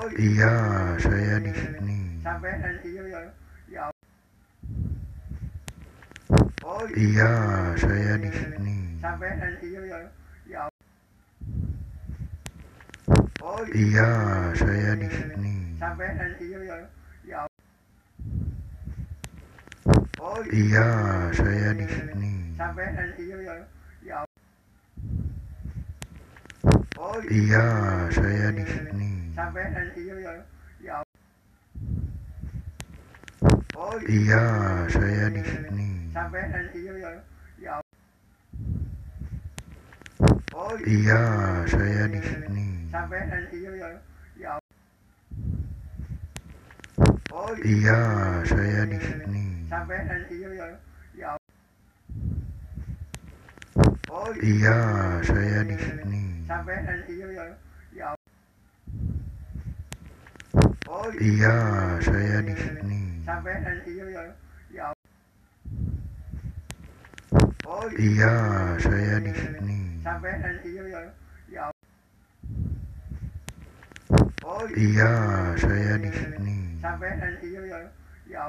Iya, saya di sini. Iya, saya di sini. Iya, saya di sini. Iya, saya di sini. Iya, saya di sini. Iya, saya di sini. Iya, saya di sini. Iya, saya di sini. Iya, saya di sini. Iya, saya di sini. Iya, saya di sini. Iya, saya di sini.